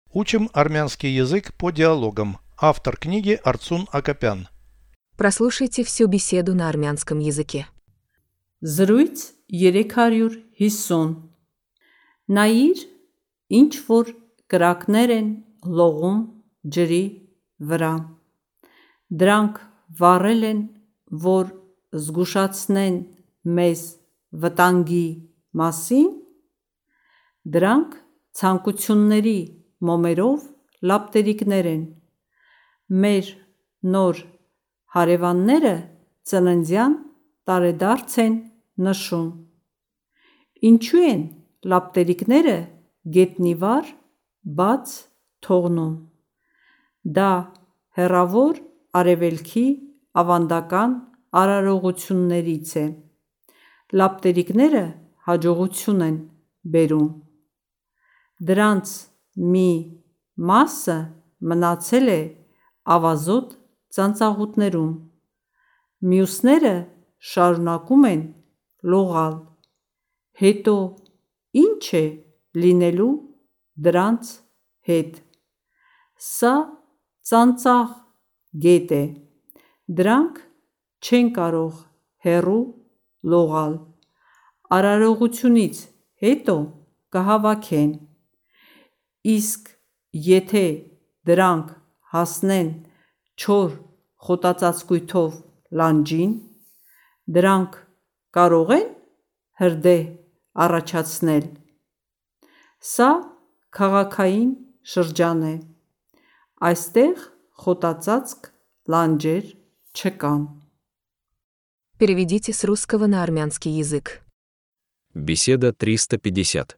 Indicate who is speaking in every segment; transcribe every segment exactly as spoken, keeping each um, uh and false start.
Speaker 1: Учим армянский язык по диалогам. Автор книги Арцун Акопян.
Speaker 2: Прослушайте всю беседу на армянском языке.
Speaker 3: Զրույց երեք հարյուր հիսուն Նայիր, ինչ որ կրակներ են լողում ջրի վրա։ Դրանք վառել են, որ զգուշացնեն մեզ վտանգի մասին։ Դրանք ցանկությունների մոմերով լապտերիկներ են։ Մեր նոր հարևանները ծննդյան տարեդարձ են նշում։ Ինչու են լապտերիկները գետնի վար բաց թողնում։ Դա հեռավոր արևելքի ավանդական արարողություններից է։ Լապտերիկները հաջողություն են բերում։ Դրանց մի մասը մնացել է ավազոտ ծանծաղուտներում, մյուսները շարունակում են լողալ։ Հետո ի՞նչ է լինելու դրանց հետ։ Սա ծանծաղ գետ է։ Դրանք չեն կարող հեռու լողալ։ Արարողությունից հետո կհավաքեն։ Իսկ եթե դրանք հասնեն չոր խոտածածկույթով լանջին, դրանք կարող են հրդեհ առաջացնել։ Սա քաղաքային շրջան է։ Այստեղ խոտածածկ լանջեր չկան։
Speaker 2: Переведите с русского на армянский язык.
Speaker 4: Беседа триста пятьдесят.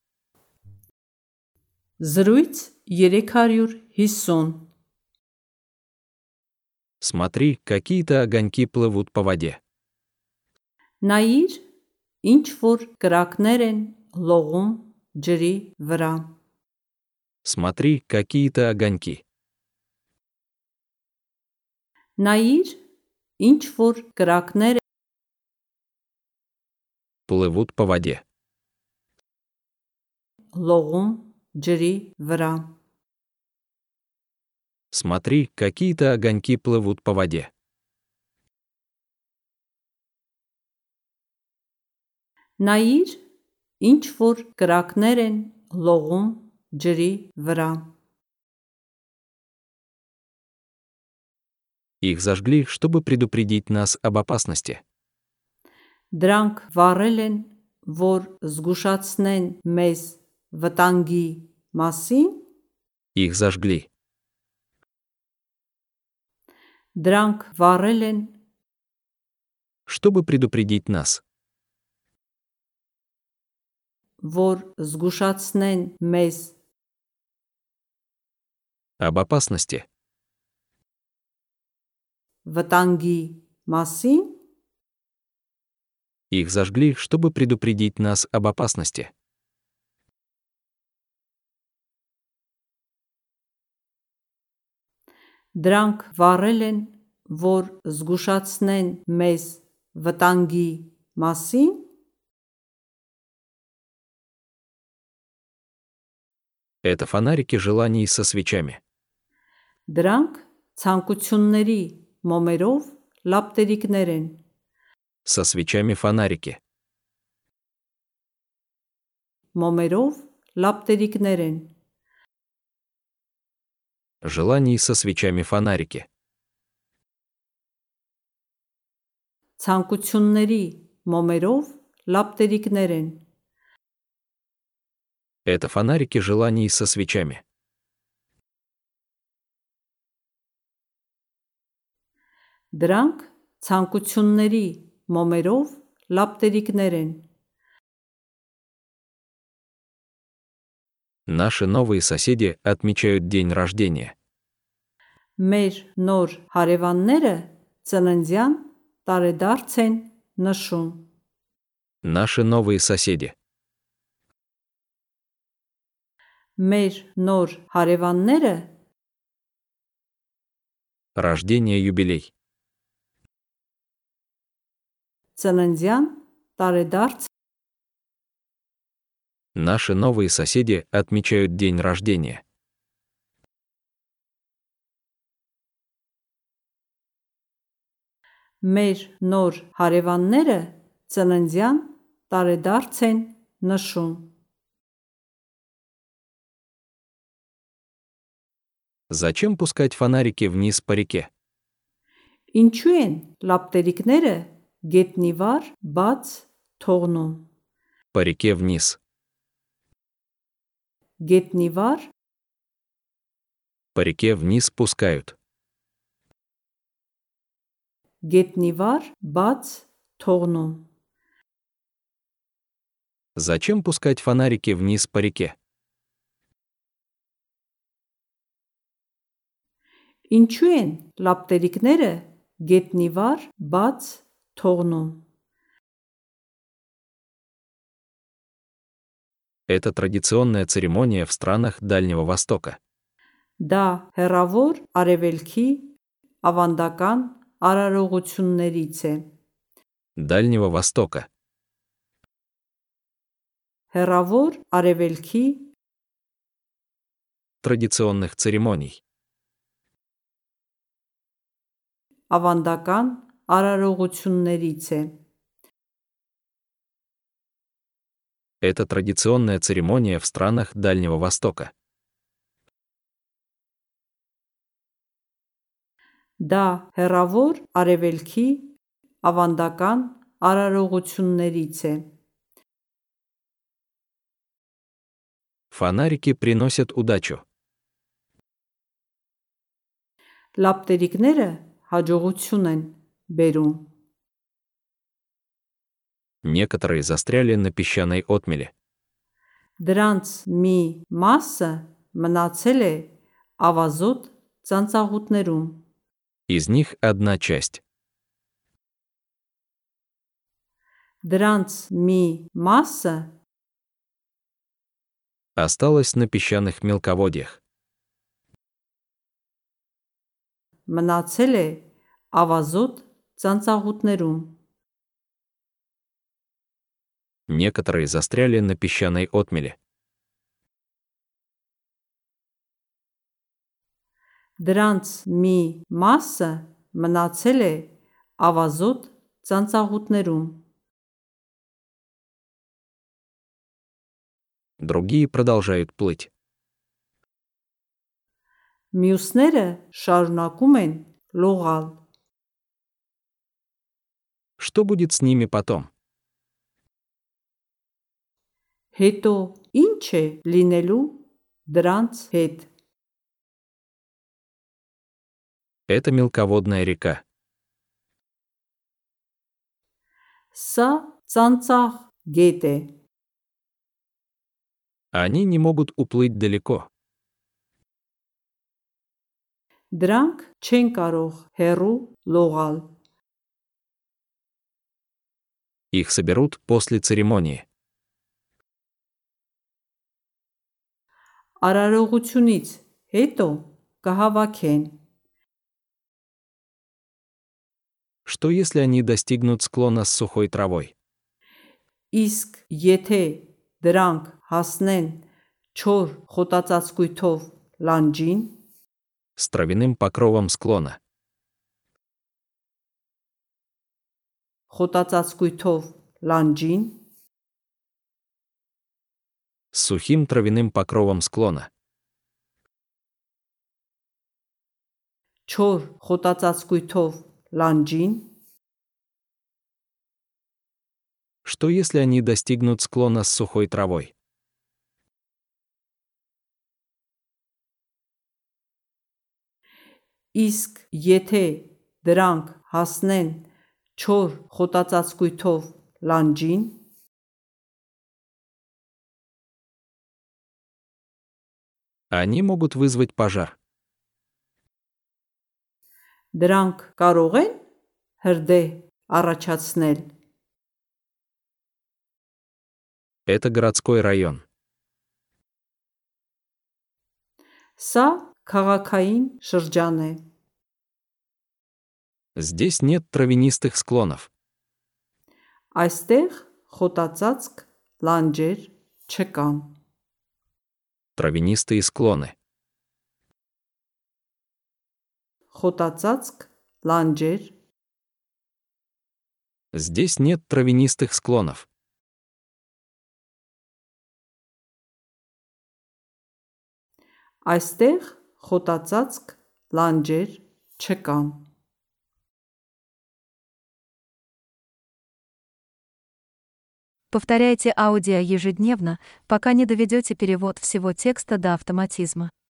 Speaker 3: Զրույց երեք հարյուր հիսուն
Speaker 4: Смотри, какие-то огоньки плывут по воде.
Speaker 3: Նայիր, ինչ որ կրակներ են լողում ջրի վրա։
Speaker 4: Смотри, какие-то огоньки.
Speaker 3: Նայիր, ինչ որ կրակներ
Speaker 4: Плывут по воде.
Speaker 3: լողում ջրի վրա։
Speaker 4: Смотри, какие-то огоньки плывут по воде.
Speaker 3: Նայիր, ինչ որ կրակներ են լողում ջրի վրա։
Speaker 4: Их зажгли, чтобы предупредить нас об опасности.
Speaker 3: Դրանք վառել են, որ զգուշացնեն մեզ վտանգի մասին։
Speaker 4: Их зажгли.
Speaker 3: Դրանք վառել են,
Speaker 4: Чтобы предупредить нас.
Speaker 3: որ զգուշացնեն մեզ
Speaker 4: Об опасности.
Speaker 3: վտանգի մասին։
Speaker 4: Их зажгли, чтобы предупредить нас об опасности.
Speaker 3: Դրանք վառել են, որ զգուշացնեն մեզ վտանգի մասին։
Speaker 4: Это фонарики желаний со свечами.
Speaker 3: Դրանք ցանկությունների մոմերով լապտերիկներ են։
Speaker 4: Со свечами фонарики.
Speaker 3: Մոմերով լապտերիկներ են։
Speaker 4: Желаний со свечами фонарики.
Speaker 3: Ցանկությունների մոմերով լապտերիկներ են։
Speaker 4: Это фонарики желаний со свечами.
Speaker 3: Դրանք ցանկությունների մոմերով լապտերիկներ են։
Speaker 4: Наши новые соседи отмечают день рождения.
Speaker 3: Մեր նոր հարևանները ծննդյան տարեդարձ են նշում։
Speaker 4: Наши новые соседи.
Speaker 3: Մեր նոր հարևանները
Speaker 4: Рождение, юбилей.
Speaker 3: ծննդյան տարեդարձ
Speaker 4: Наши новые соседи отмечают день рождения.
Speaker 3: Մեր նոր հարևանները ծննդյան տարեդարձ են նշում։
Speaker 4: Зачем пускать фонарики вниз по реке?
Speaker 3: Ինչու են լապտերիկները գետնի վար բաց թողնում։
Speaker 4: По реке вниз.
Speaker 3: Գետնի վար
Speaker 4: По реке вниз пускают.
Speaker 3: գետնի վար բաց թողնում։
Speaker 4: Зачем пускать фонарики вниз по реке?
Speaker 3: Ինչու են լապտերիկները գետնի վար բաց թողնում։
Speaker 4: Это традиционная церемония в странах Дальнего Востока.
Speaker 3: Դա հեռավոր արևելքի ավանդական արարողություններից է։
Speaker 4: Дальнего Востока.
Speaker 3: Հեռավոր արևելքի
Speaker 4: Традиционных церемоний.
Speaker 3: ավանդական արարողություններից է։
Speaker 4: Это традиционная церемония в странах Дальнего Востока.
Speaker 3: Դա հեռավոր արևելքի ավանդական արարողություններից է։
Speaker 4: Фонарики приносят удачу.
Speaker 3: Լապտերիկները հաջողություն են բերում։
Speaker 4: Некоторые застряли на песчаной отмели.
Speaker 3: Դրանց մի մասը մնացել է ավազոտ ծանծաղուտներում։
Speaker 4: Из них одна часть.
Speaker 3: Դրանց մի մասը
Speaker 4: Осталась на песчаных мелководьях.
Speaker 3: մնացել է ավազոտ ծանծաղուտներում։
Speaker 4: Некоторые застряли на песчаной отмели.
Speaker 3: Դրանց մի մասը մնացել է ավազոտ ծանծաղուտներում։
Speaker 4: Другие продолжают плыть.
Speaker 3: Մյուսները շարունակում են լողալ։
Speaker 4: Что будет с ними потом?
Speaker 3: Հետո ինչ է լինելու դրանց հետ։
Speaker 4: Это мелководная река.
Speaker 3: Սա ծանծաղ գետ է։
Speaker 4: Они не могут уплыть далеко.
Speaker 3: Դրանք չեն կարող հեռու լողալ։
Speaker 4: Их соберут после церемонии.
Speaker 3: Արարողությունից հետո կհավաքեն։
Speaker 4: Что если они достигнут склона с сухой травой?
Speaker 3: Իսկ եթե դրանք հասնեն չոր խոտածածկույթով լանջին,
Speaker 4: С травяным покровом склона.
Speaker 3: խոտածածկույթով լանջին,
Speaker 4: С сухим травяным покровом склона.
Speaker 3: չոր խոտածածկույթով լանջին,
Speaker 4: Что если они достигнут склона с сухой травой?
Speaker 3: իսկ եթե դրանք հասնեն չոր խոտածածկույթով լանջին,
Speaker 4: Они могут вызвать пожар.
Speaker 3: դրանք կարող են հրդեհ առաջացնել։
Speaker 4: Это городской район.
Speaker 3: Սա քաղաքային շրջան է։
Speaker 4: Здесь нет травянистых склонов.
Speaker 3: Այստեղ խոտածածկ լանջեր չկան։
Speaker 4: Травянистые склоны.
Speaker 3: Խոտածածկ լանջեր
Speaker 4: Здесь нет травянистых склонов.
Speaker 3: Այստեղ խոտածածկ լանջեր չկան։
Speaker 5: Повторяйте аудио ежедневно, пока не доведете перевод всего текста до автоматизма.